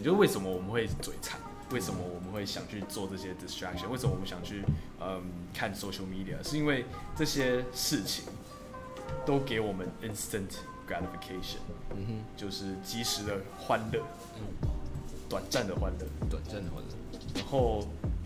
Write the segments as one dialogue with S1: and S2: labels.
S1: 就是為什麼我們會嘴饞，為什麼我們會想去做這些 distraction， 為什麼我們想去看 social media， 是因為這些事情都給我們 instant gratification，就是即時的歡樂，短暫的歡樂，然後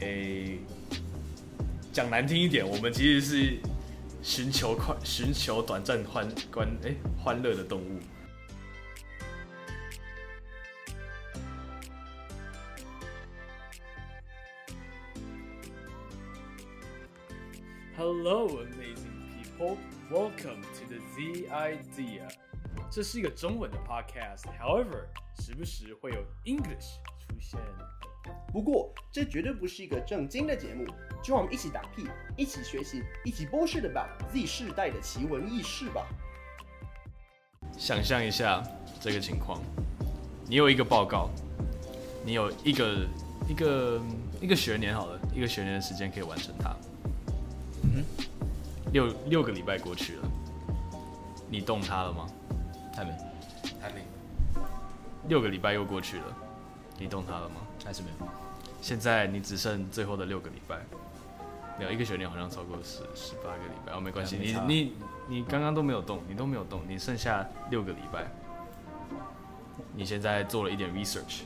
S1: 講難聽一點，我們其實是尋求短暫歡樂的動物。Hello, amazing people. Welcome to the Z Idea. 這是一個中文的 podcast. However, 時不時會有 English 出現。
S2: 不過，這絕對不是一個正經的節目，就讓我們一起打屁，一起學習，一起bullshit about Z 世代的奇聞異事吧。
S1: 想象一下這個情況，你有一個報告，你有一個學年好了，一個學年的時間可以完成它。六個禮拜過去了，你動它了嗎？還沒。6個禮拜又過去了，你動它了嗎？還是沒有。現在你只剩最後的6個禮拜，沒有一個學年好像超過18個禮拜，沒關係，你剛剛都沒有動，你剩下6個禮拜，你現在做了一點 research，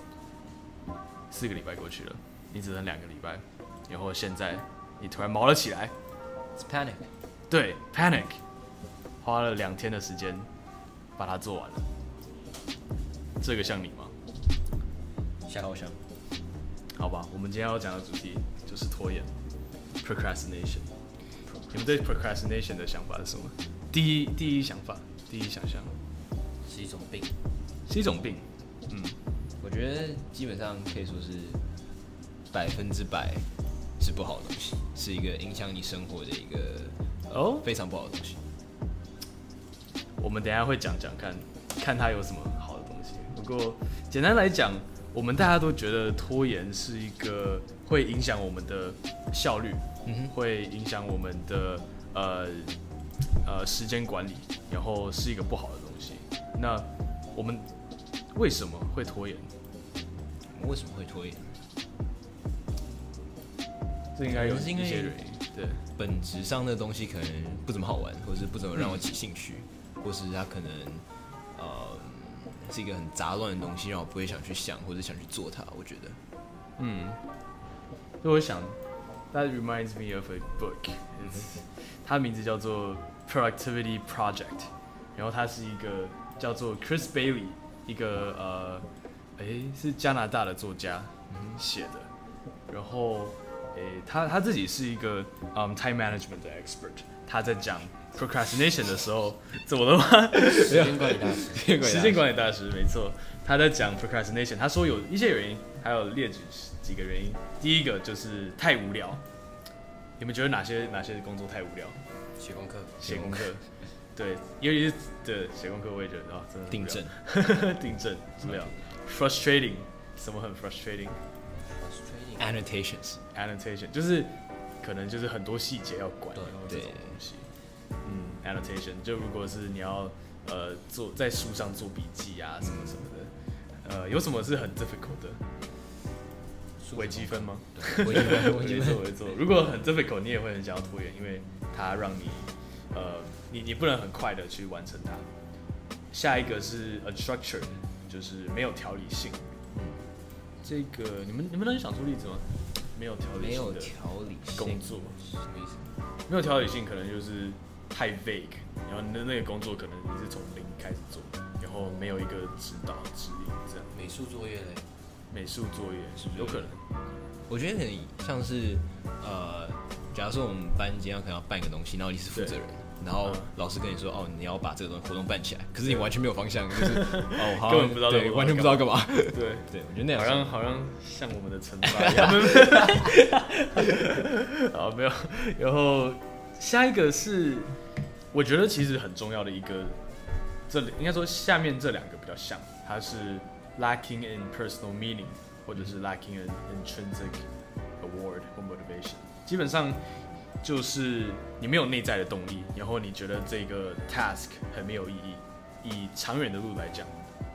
S1: 4個禮拜過去了，你只剩2個禮拜，然後現在你突然毛了起來。
S3: It's panic.
S1: 對 ，panic， 花了2天的時間把它做完了。這個像你嗎？
S3: 好像。
S1: 好吧，我們今天要講的主題就是拖延 ，procrastination。你們對 procrastination 的想法是什麼？第一想象
S3: 是一種病。
S1: 是一種病。
S3: 我覺得基本上可以說是100%。是不好的東西，是一個影響你生活的一個非常不好的東西。
S1: 我們等一下會講看它有什麼好的東西。不過簡單來講，我們大家都覺得拖延是一個會影響我們的效率，會影響我們的時間管理，然後是一個不好的東西。那我們為什麼會拖延？這應該有一些原因，對，
S3: 本質上的東西可能不怎麼好玩，或者是不怎麼讓我起興趣，或是它可能是一個很雜亂的東西，讓我不會想去想或者想去做它。我覺得，
S1: 所以我想 ，That reminds me of a book， 它的名字叫做 Productivity Project， 然後它是一個叫做 Chris Bailey， 一個是加拿大的作家寫的，然後。他自己是一个time management 的 expert， 他在講 procrastination 的時候，怎麼了嗎？時間管理大師，沒錯。他在講 procrastination， 他說有一些原因，還有列舉幾個原因。第一個就是太無聊。你們覺得哪些工作太無聊？寫功課，對，尤其是對寫功課，我也覺得真的訂正無聊 ，frustrating， 什麼很 frustrating。Annotation 就是可能就是很多細節要管，然後這種東西。Annotation 就如果是你要在書上做筆記啊什麼的，有什麼是很 difficult 的？微積分嗎？微積分。如果很 difficult， 你也會很想要拖延，因為它讓你不能很快的去完成它。下一個是 unstructured， 就是沒有條理性。這個你們能想出例子嗎？沒有條理性的工作，什麼意思？沒有條理性可能就是太 vague， 然後那個工作可能你是從零開始做，然後沒有一個指導指引這樣。
S3: 美術作業嘞？
S1: 美術作業是不是有可能？
S3: 我覺得可能像是假如說我們班今天可能要辦一個東西，然後你是負責人。然後老師跟你說，你要把這個活動辦起來，可是你完全沒有方向，就是
S1: 根本不知道
S3: 對，完全不知道幹嘛。
S1: 對，我覺得那樣好像像我們的懲罰一樣。好，沒有。然後下一個是，我覺得其實很重要的一個，應該說下面這2個比較像，它是 lacking in personal meaning， 或者是 lacking in intrinsic award 或 motivation， 基本上。就是你沒有內在的動力，然後你覺得這個 task 很沒有意義。以長遠的路來講，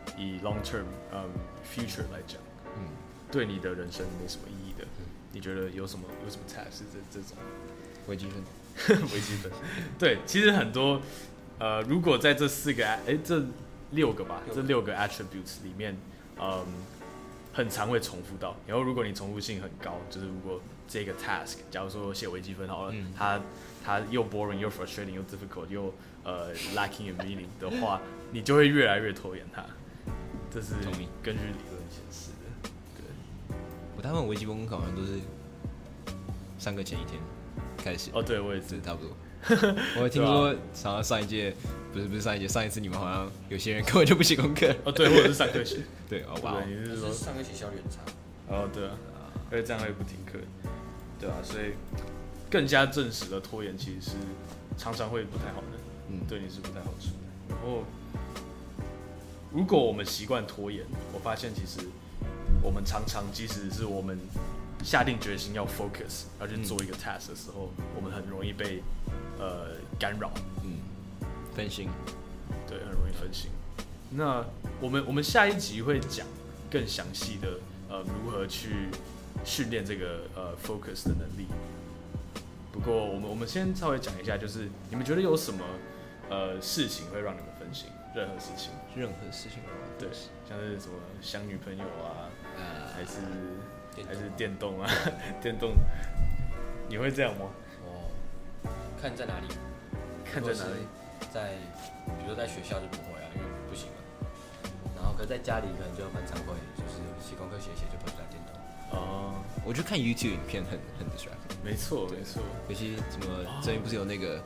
S1: 以 long term future 來講，對你的人生沒什麼意義的，你覺得有什麼 task 是這種
S3: 微積分？
S1: 微積分，對，其實很多如果在這六個 attributes 裡面，很常會重複到。然後如果你重複性很高，就是如果這個 task， 假如說寫微積分好了，它又 boring 又 frustrating 又 difficult 又lacking in meaning 的話，你就會越來越拖延它。這是根據理論顯示的。对，
S3: 我大部分微積分考完都是上課前一天開始。
S1: 哦，對，我也是
S3: 差不多。我聽說好像上一屆不是上一届，上一次你們好像有些人根本就不寫功課。
S1: 哦，對，或者是上課寫。
S3: 对，哦哇，
S1: 你是說
S4: 上課写效率很差。
S1: 哦，对啊，而且這樣会不停課，對啊，所以更加證實了拖延其實是常常會不太好的，對你是不太好處的。然後，如果我們習慣拖延，我發現其實我們常常即使是我們下定決心要 focus 要去做一個 task 的時候，我們很容易被干擾，
S3: 分心，
S1: 对，很容易分心。那我们下一集會講更詳細的如何去訓練這個focus 的能力。不過我們先稍微講一下，就是你們覺得有什麼事情會讓你們分心？任何事情，對，像是什麼想女朋友啊，還是電動啊，電動，你會這樣嗎？
S4: 看在哪裡？
S1: 看在哪裡？
S4: 比如說在學校就不會啊，因為不行啊。然後可是在家裡可能就蠻常會，就是寫功課寫就跑去打電動。
S1: 哦，
S3: 我觉得看 YouTube 影片很 distracting。没錯，尤其什麼最近不是有那個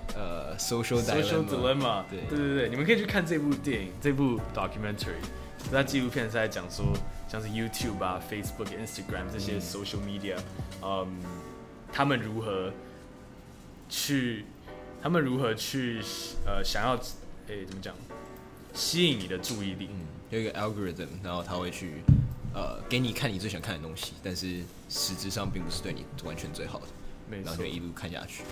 S3: social dilemma， 對，
S1: 你們可以去看這部電影，這部 documentary， 它紀錄片是在講說，像是 YouTube 啊、Facebook、Instagram 這些 social media，他們如何去想要怎麼講，吸引你的注意力。
S3: 有一個 algorithm， 然後他會去給你看你最想看的東西，但是實質上並不是對你完全最好的，然後就一路看下去。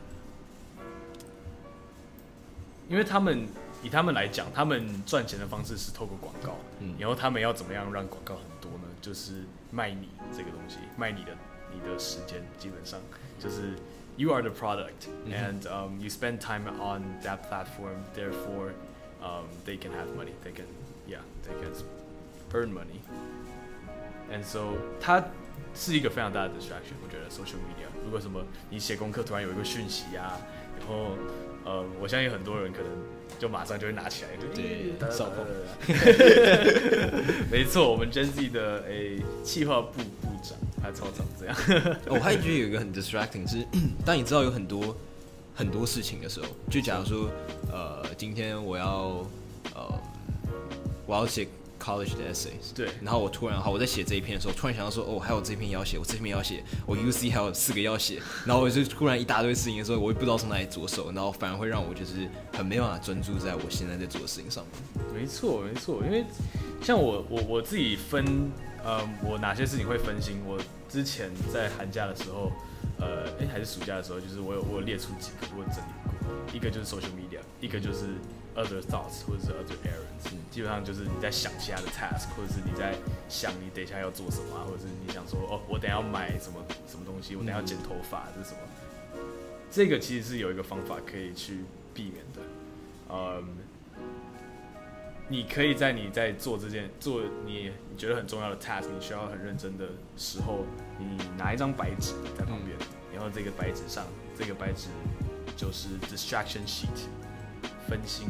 S1: 因為以他們來講，他們賺錢的方式是透過廣告，然後他們要怎麼樣讓廣告很多呢？就是賣你這個東西，賣你的時間，基本上就是 you are the product and you spend time on that platform, therefore they can have money, they can earn money, and so 它是一個非常大的 distraction， 我覺得 social media。如果什麼你寫功課突然有一個訊息啊，然後我相信很多人可能就馬上就會拿起來，對，掃碰。沒錯，我們 Gen Z 的企劃部長，他超常這樣。
S3: 我還覺得有一個很 distracting 是，當你知道有很多事情的時候，就假如說今天我要寫 college 的 essays，
S1: 對，
S3: 然後我在寫這一篇的時候，突然想到說，還有這篇要寫，我這篇要寫，我 UC 還有4個要寫，然後我就突然一大堆事情的時候，我也不知道從哪裡着手，然後反而會讓我就是很沒辦法專注在我現在在做的事情上面。
S1: 沒錯，因為像我自己分，我哪些事情會分心，我之前在寒假的時候，還是暑假的時候，就是我有列出幾個，我有整理過，一個就是 social media， 一個就是 other thoughts 或者是 other errands，基本上就是你在想其他的 task， 或者是你在想你等一下要做什麼啊，或者是你想說我等一下要買什麼東西，我等一下要剪頭髮這是什麼，這個其實是有一個方法可以去避免的，你可以在你在做你覺得很重要的 task， 你需要很認真的時候，你拿一張白紙在旁邊，然後這個白紙上，這個白紙就是 distraction sheet， 分心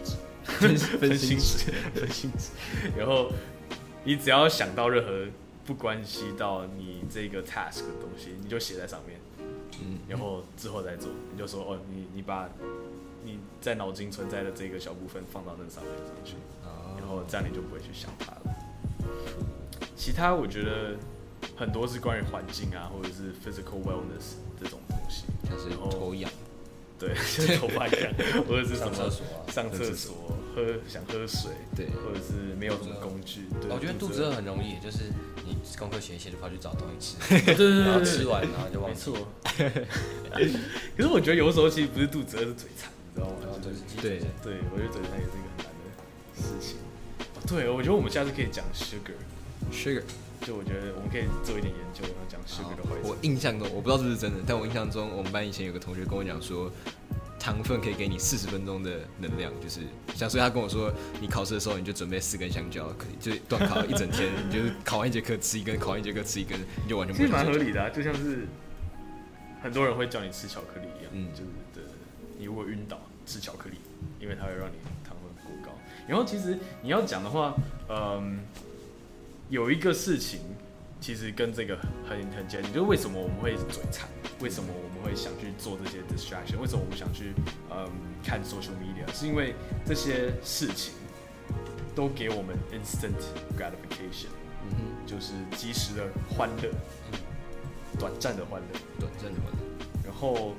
S1: 紙，然後你只要想到任何不關係到你這個 task 的東西，你就寫在上面，然後之後再做，你就說你把你在腦筋存在的這個小部分放到那上面去，然後這樣你就不會去想它了。其他我覺得很多是關於環境啊，或者是 physical wellness 這種東西，
S3: 像是頭癢，
S1: 對，像頭髮癢，或者是什麼上廁所想喝水，對，或者是沒有什麼工具。
S4: 我覺得肚子餓很容易，就是你功課寫一寫就跑去找東西吃，
S1: 對，
S4: 然後吃完然後就忘記。
S1: 可是我覺得有時候其實不是肚子餓，是嘴饞。你知道嗎？
S3: 對，
S1: 我覺得嘴饞也是一個很難的事情。 對，我覺得我們下次可以講
S3: sugar，
S1: 就我覺得我們可以做一點研究，然後講 sugar 的壞處。
S3: 我印象中，我不知道是不是真的，但我印象中，我們班以前有個同學跟我講說，糖分可以给你40分鐘的能量，就是像所以他跟我說，你考試的時候你就準備4根香蕉，就断考一整天，你就是考完1節課吃1根，考完1節課吃1根，你就完全不。
S1: 其實蠻合理的啊，就像是很多人会叫你吃巧克力一樣，就是对，你如果暈倒吃巧克力，因為它会讓你糖分過高。然後其實你要講的話，有一個事情其實跟這個很接近，就是為什麼我們會嘴饞，為什麼我們會想去做這些 distraction， 為什麼我們想去看 social media， 是因為這些事情都給我們 instant gratification，就是即時的歡樂，短暫的歡樂。然後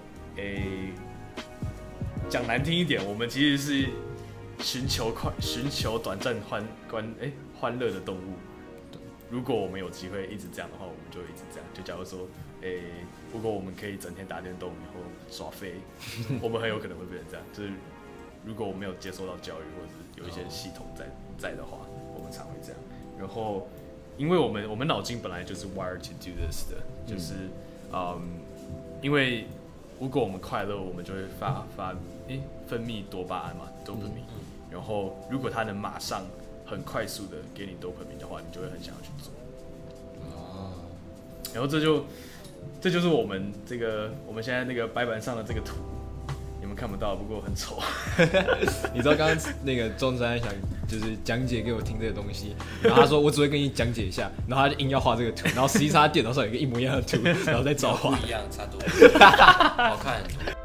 S1: 講難聽一點，我們其實是尋求短暫歡樂的動物。如果我們有機會一直這樣的話，我们就一直這樣。就假如說，如果我們可以整天打電動，然後耍廢，我們很有可能會變成這樣。就是如果我沒有接受到教育，或者是有一些系統在的話，我們常會這樣。然後，因為我們腦筋本來就是 wired to do this 的，就是因為如果我們快樂，我們就会分泌多巴胺嘛 ，dopamine。然後，如果它能馬上很快速的給你 dopamine 的話，你就會很想要去做。然後這就是我們現在那個白板上的這個圖，你們看不到，不過很醜。
S3: 你知道剛剛那個中山想就是講解給我聽這個東西，然後他說我只會跟你講解一下，然後他就硬要畫這個圖，然後實際上他電腦上有一個一模一樣的圖，然後再找畫。
S4: 不一樣，差多了，好看。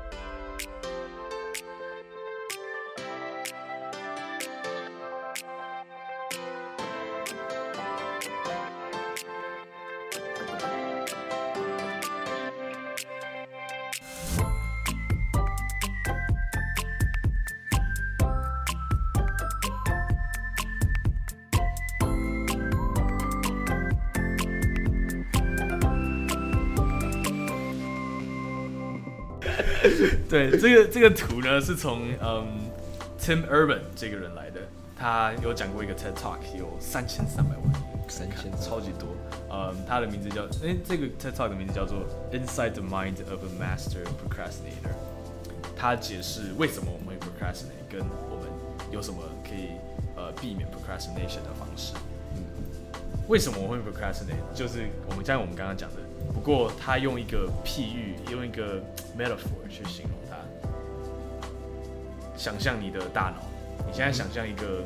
S1: 对，這個圖呢是從Tim Urban 這個人來的，他有講過一個 TED Talk， 有3300萬，3000超級多。他的名字叫這個 TED Talk 的名字叫做 Inside the Mind of a Master Procrastinator。他解釋為什麼我們會 procrastinate， 跟我們有什麼可以避免 procrastination 的方式。為什麼我會 procrastinate？ 就是我們剛剛講的。不過他用一個譬喻，用一個 metaphor 去形容它。想象你的大腦，你現在想象一個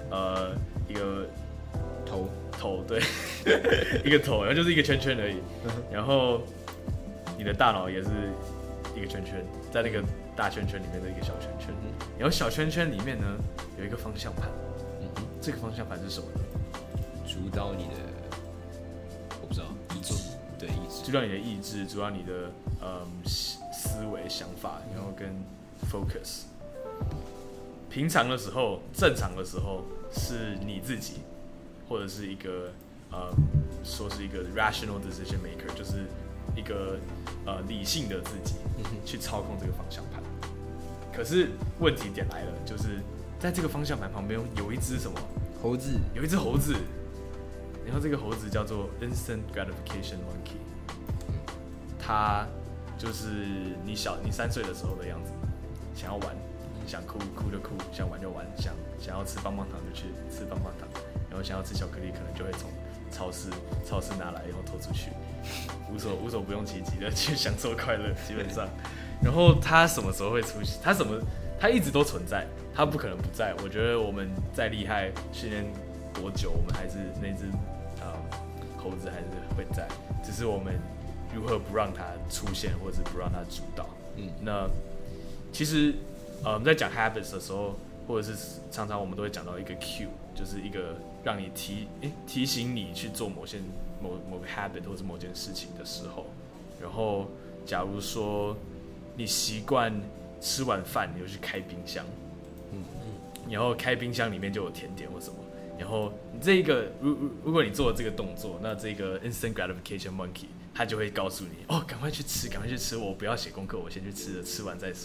S1: 頭，對，一個頭，然後就是一個圈圈而已。然後你的大腦也是一個圈圈，在那個大圈圈裡面的一個小圈圈。然後小圈圈裡面呢有一個方向盤，這個方向盤是什麼呢？
S3: 主導你的，我不知道，意志。對，意志。主導你的意志，主導你的思維、想法，然後跟 focus。平常的時候，正常的时候是你自己，或者是一個說是一個 rational decision maker， 就是一個理性的自己去操控這個方向盤。可是問題點來了，就是在這個方向盤旁邊有一隻什麼猴子，有一隻猴子。然後這個猴子叫做 Instant Gratification Monkey， 它就是你3歲的時候的樣子，想要玩，想哭就哭，想玩就玩，想要吃棒棒糖就去吃棒棒糖，然後想要吃巧克力可能就會從超市拿來然後拖出去，無所不用其極的去享受快樂，基本上。然後它什麼時候會出現？它一直都存在，它不可能不在。我覺得我們再厲害，訓練多久，我們還是那隻猴子還是會在，只是我們如何不讓它出現，或者是不讓它主導。那其實在講 habits 的時候，或者是常常我們都會講到一個 cue， 就是一個讓你提醒你去做某個 habit 或者某件事情的時候。然後假如說你習慣吃完飯你就去開冰箱，然後開冰箱裡面就有甜點或什麼。然後這個如果你做了這個動作，那這個 instant gratification monkey 它就會告訴你，趕快去吃，我不要寫功課，我先去吃了，吃完再說。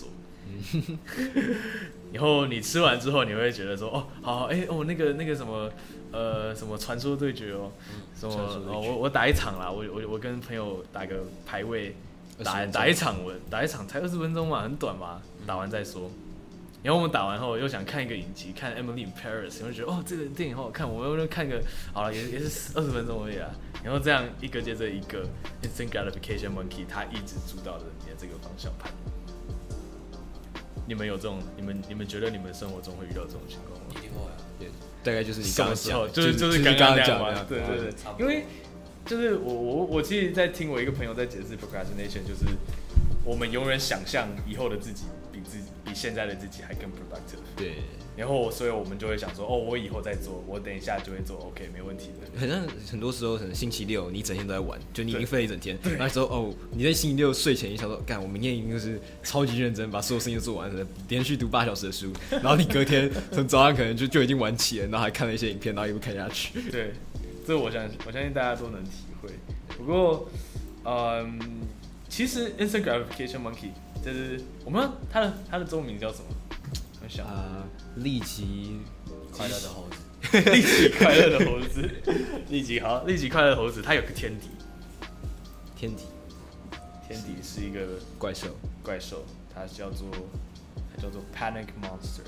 S1: 然後你吃完之後，你会覺得說，哦，好，那個什麼，什麼傳說對決哦，什麼我打一场啦，我跟朋友打個排位，打一場才20分鐘嘛，很短嘛，打完再說。然後我們打完後又想看一個影集，看 Emily in Paris， 然後覺得這個電影好好看，我們就看個好了，也是20分鐘而已啦。然後這樣一個接着一個 instant gratification monkey， 它一直主導着你的這個方向盤。你們有這種，你們覺得你們生活中會遇到這種情況嗎？
S4: 一定會啊，
S3: 对，大概就是你剛刚講，
S1: 就是剛剛講嘛，對，因為就是我其實在聽我一個朋友在解釋 procrastination， 就是我們永遠想象以後的自己比現在的自己還更 productive。对。然後，所以我們就會想說，我以後再做，我等一下就會做 ，OK， 沒問題的。好像
S3: 很多時候，可能星期六你整天都在玩，就你已經廢了一整天，那時候你在星期六睡前，你想說，幹，我明天一定就是超級認真，把所有事情都做完了，連續讀8小時的書，然後你隔天從早上可能就已經玩起了，然後還看了一些影片，然後一路看下去。
S1: 對，這我相信大家都能體會。不過，其實 instant gratification monkey 就是我們它的中文名叫什麼？
S3: 立即
S4: 快樂的猴子，
S1: 立即快樂的猴子，立即快樂的猴子，它有個天敵，天敵是一個怪獸，它叫做 Panic Monster，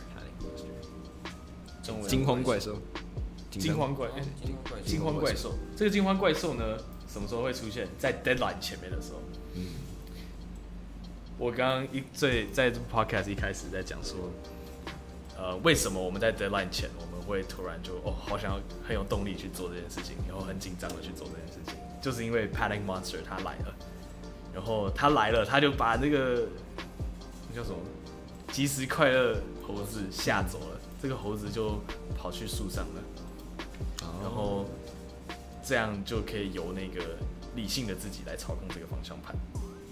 S1: 中文
S3: 驚慌怪獸，
S1: 驚慌怪獸。這個驚慌怪獸呢，什麼時候會出現？在 deadline 前面的時候。我剛剛在 podcast 一開始在講說。為什麼我們在 deadline 前我們會突然就好想要很有動力去做這件事情，然後很緊張的去做這件事情，就是因為 Panic Monster 他來了，然後他來了，他就把那個那叫什麼即時快樂猴子嚇走了，這個猴子就跑去樹上了，然後這樣就可以由那個理性的自己來操控這個方向盤，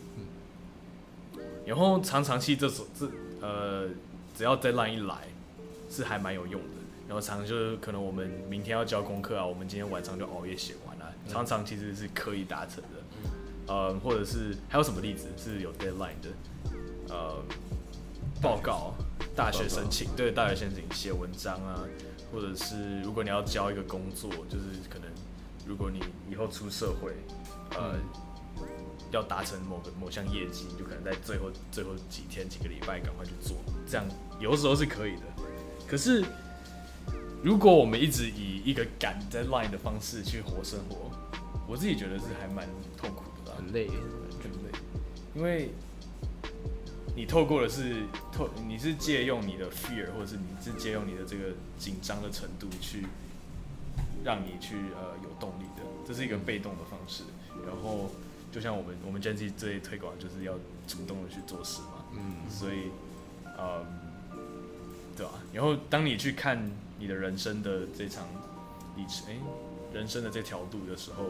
S1: 然後常其實只要 deadline 一來。是還蠻有用的，然後常就是可能我們明天要交功課啊，我們今天晚上就熬夜寫完了，常其實是可以達成的，或者是還有什麼例子是有 deadline 的，報告、大學申請，對，大學申請寫文章啊，或者是如果你要交一個工作，就是可能如果你以後出社會，要達成某項業績，你就可能在最後幾天幾個禮拜趕快去做，這樣有的時候是可以的。可是，如果我們一直以一個趕 deadline 的方式去活生活，我自己覺得是還蠻痛苦的，
S3: 很累，
S1: 因為你透過的是你是借用你的 fear， 或者是你是借用你的这個緊張的程度去讓你去有動力的，這是一個被動的方式。然後就像我們 Gen Z 最推廣就是要主動的去做事嘛，所以對吧？然後當你去看你的人生的這場歷程，人生的這條路的時候，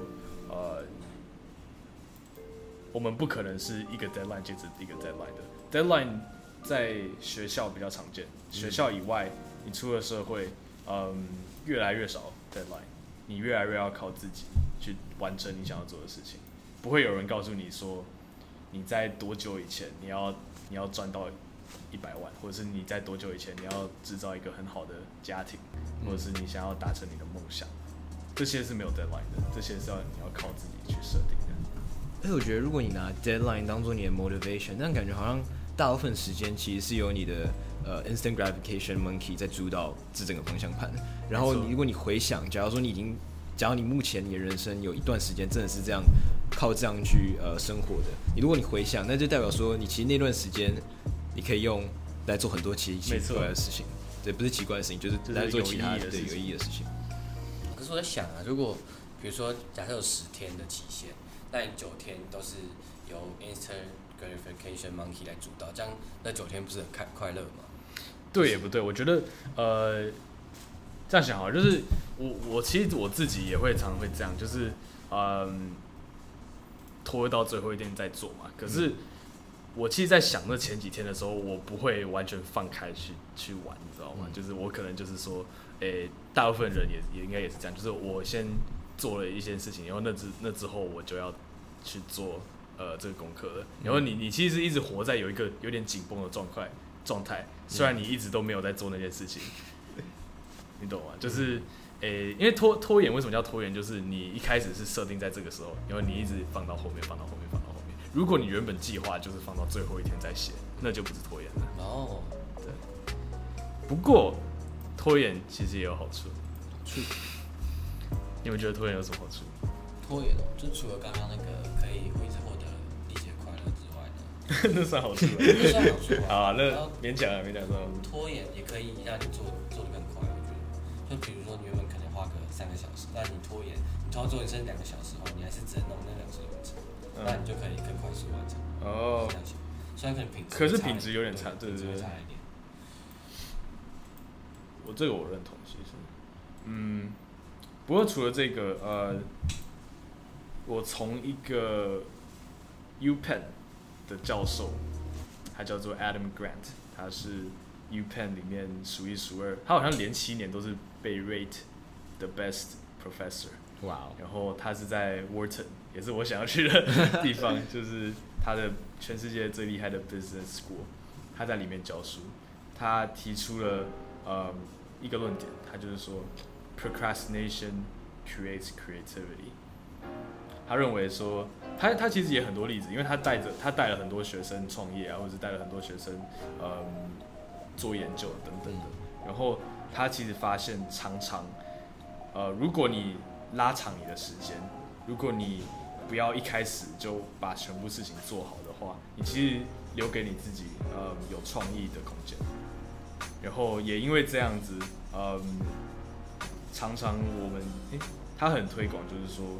S1: 我們不可能是一個 deadline 接着一個 deadline 的。deadline 在學校比較常見，學校以外，你出了社會，越來越少 deadline， 你越來越要靠自己去完成你想要做的事情。不會有人告訴你說，你在多久以前你要賺到100萬，或者是你在多久以前你要製造一個很好的家庭，或者是你想要達成你的夢想，這些是沒有 deadline 的，這些是你要靠自己去設定的。
S3: 我覺得如果你拿 deadline 當做你的 motivation， 那感覺好像大部分時間其實是由你的instant gratification monkey 在主導這整個方向盤。然後如果你回想，假如你目前你的人生有一段時間真的是這樣靠這樣去生活的，如果你回想，那就代表說你其實那段時間你可以用來做很多奇怪的事情，对，不是奇怪的事情，就是来做其他的有意義的事情。
S4: 可是我在想啊，如果比如說假設有10天的期限，那你9天都是由 instant gratification monkey 來主導，這樣那9天不是很快樂嗎？
S1: 對也不對，我覺得這樣想好了，就是我其實我自己也會常會這樣，就是拖到最後一天再做嘛。可是我其實，在想那前幾天的時候，我不會完全放開去玩，你知道嗎？就是我可能就是說，大部分人也應該也是這樣，就是我先做了一些事情，然後那之後我就要去做這個功課了。然後你其實一直活在有一個有點緊繃的狀狀態，雖然你一直都沒有在做那件事情，你懂嗎？就是因為拖延為什麼叫拖延？就是你一開始是設定在這個時候，然後你一直放到後面，放到後面，放到後面。如果你原本計劃就是放到最後一天再寫，那就不是拖延了。
S4: 哦，
S1: 对。不過拖延其實也有好處。你們覺得拖延有什麼好處？
S5: 拖延就除了剛剛那個可以一直獲得一些快樂之外呢，
S1: 那算好處。
S5: 那算好处啊。
S1: 好，那勉强算好处。
S5: 拖延也可以讓你做得更快，我觉得。就比如说你原本可能花個3個小時，但你拖延，你拖到做你剩2個小时後，你還是只能弄那2個小时完成，那你就可以更快速完成。哦。虽然可能可
S1: 是品質有點差，对。
S5: 差一點。
S1: 我認同，其實，不過除了這個，我從一個 UPenn 的教授，他叫做 Adam Grant， 他是 UPenn 裡面數一數二，他好像連7年都是被 rate the best professor。哇哦！然後他是在 Wharton， 也是我想要去的地方，就是他的全世界最厲害的 business school， 他在裡面教書，他提出了一個論點，他就是說 procrastination creates creativity。他認為說，他其實也很多例子，因為他帶了很多學生創業啊，或者帶了很多學生做研究等等的。然後他其實發現，常常如果你拉長你的時間，如果你不要一開始就把全部事情做好的話，你其實留給你自己有創意的空間。然後也因為這樣子，常常我們他很推廣，就是說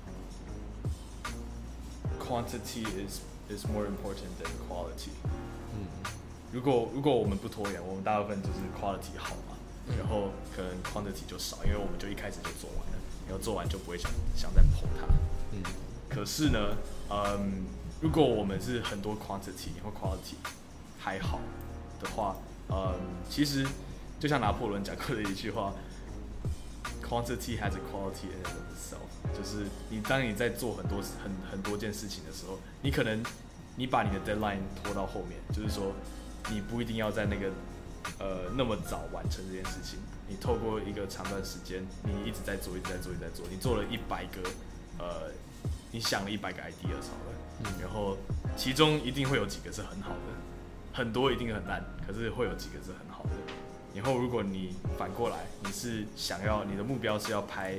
S1: ，quantity is more important than quality。如果我們不拖延，我們大部分就是 quality 好嘛，然後可能 quantity 就少，因為我們就一開始就做完了，然後做完就不會想再碰它。可是呢，如果我們是很多 quantity 然後 quality 還好的話，其實就像拿破崙講過的一句話 ，quantity has a quality in and of itself， 就是當你在做很多件事情的時候，你可能你把你的 deadline 拖到後面，就是說你不一定要在那个那麼早完成這件事情，你透過一個長段時間，你一直在做，你做了100個你想了100個 ideas 好了，然後其中一定會有幾個是很好的。很多一定很爛，可是會有幾個是很好的。然後如果你反過來，你的目標是要拍，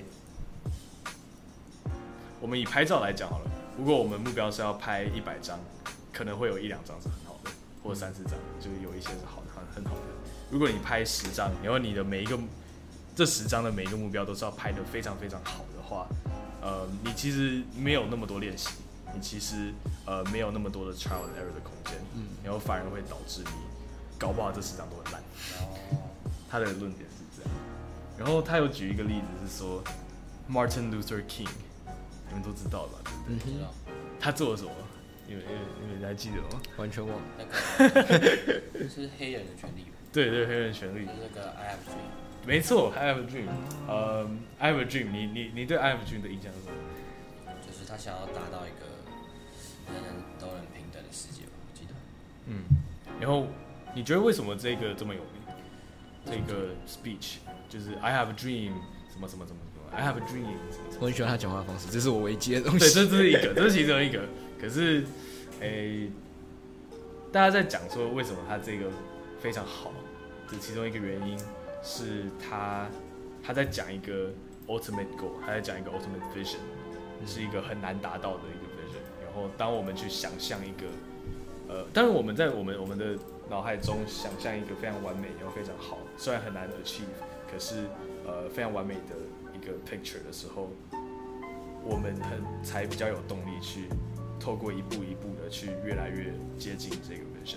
S1: 我們以拍照來講好了。如果我們目標是要拍100張，可能會有1-2張是很好的，或者3-4張，就是有一些是很好的。如果你拍10張，然後你的這10張的每一個目標都是要拍得非常非常好的話，你其實沒有那麼多練習。你其實沒有那麼多的 trial and error 的空間，然後反而會導致你搞不好這10張都很爛。他的論點是這樣，然後他有舉一個例子是說 Martin Luther King， 你們都知道吧？對不對？知道。他做了什麼？你們還記得嗎？完全忘了。
S5: 那個是黑人的權利。
S1: 對，黑人權利。
S5: 就是那個 I have a dream。
S1: 沒錯 ，I have a dream。I have a dream。你對 I have a dream 的印象是什麼？
S5: 就是他想要達到一個人人都能平等的世界吧，我記得。
S1: 然後你覺得為什麼這個這麼有名？這個 speech 就是 I have a dream， 什麼 I have a dream，
S3: 我很喜歡他講話的方式，這是我唯一的東西。
S1: 對，這是一個，這是其中一個。可是，大家在講說為什麼他這個非常好，這其中一個原因是他在講一個 ultimate goal， 他在講一個 ultimate vision，是一個很難達到的一個 vision。然後當我們去想象一個，當然我們在我們的腦海中想象一個非常完美，然後非常好，雖然很難 achieve， 可是非常完美的一個 picture 的時候，我們才比較有動力去透過一步一步的去越來越接近這個 vision。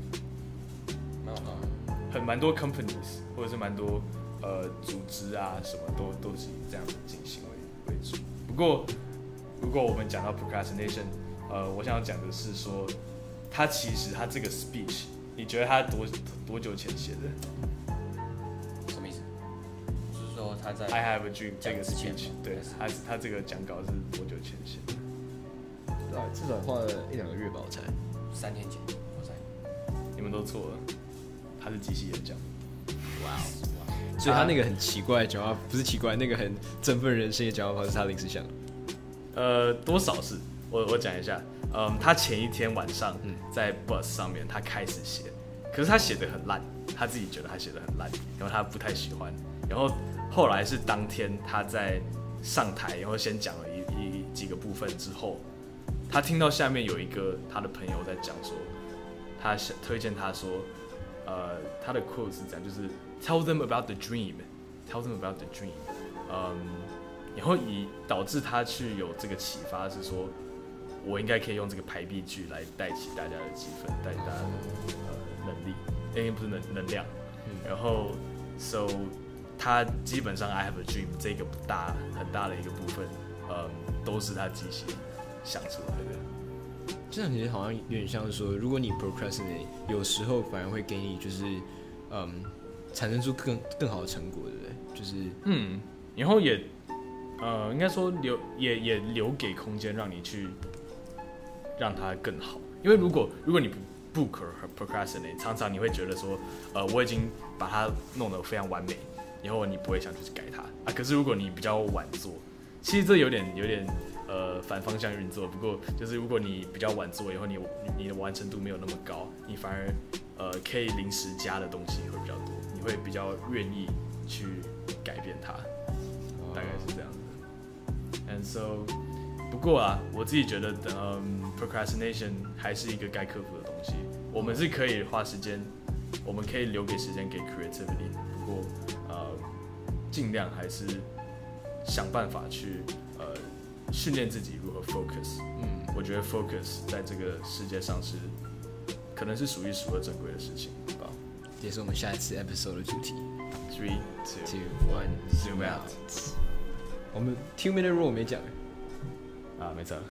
S1: 蠻多 companies 或者是蠻多組織啊什麼都是以這樣的進行為主。不過如果我們講到 procrastination，我想要講的是說，他這個 speech， 你覺得他多久前寫的？
S5: 什麼意思？就是說他在
S1: I have a dream 這個 speech， 對，他這個講稿是多久前寫的？
S3: 至少花了1-2個月吧，我猜。
S5: 3天前，我猜。
S1: 你們都錯了。 他是機器演講。哇哦！
S3: 所以他那個很奇怪的講話，不是奇怪，那個很振奮人心的講話方式，他臨時想的。
S1: 多少是，我講一下。他前一天晚上在 bus 上面，他開始寫，可是他寫得很爛，他自己覺得他寫得很爛，然後他不太喜歡。然後後來是當天他在上台，然後先講了幾個部分之後，他聽到下面有一個他的朋友在講說，他推薦他說，他的 quote 是這樣，就是 tell them about the dream，tell them about the dream，然後導致他去有這個啟發是說，我應該可以用這個排比句來帶起大家的氣氛，帶起大家的能力，不是能量，然後 so 他基本上 I have a dream 這個很大的一個部分，都是他即興想出來的。
S3: 這樣其實好像有點像是說，如果你 procrastinate， 有時候反而會給你就是產生出更好的成果，對不對？就是
S1: 然後也應該說也留給空間讓你去讓它更好。因為如果你不 procrastinate， 常常你會覺得說，我已經把它弄得非常完美，然後你不会想去改它啊。可是如果你比較晚做，其實這有點反方向運作。不過就是如果你比較晚做，以後你的完成度没有那麼高，你反而可以臨時加的東西會比較多，你會比較願意去改變它，大概是這樣子。And so， 不過啊，我自己覺得procrastination 還是一個該克服的東西。我們是可以花時間，我們可以留給時間給 creativity。不過盡量還是想辦法去訓練自己如何 focus。我覺得 focus 在這個世界上是可能是數一數二珍貴的事情吧。
S3: 也是我們下一次 episode 的主題。
S1: 3, 2, 1, zoom out。
S3: 我們 2-minute rule 沒講
S1: 啊，沒錯。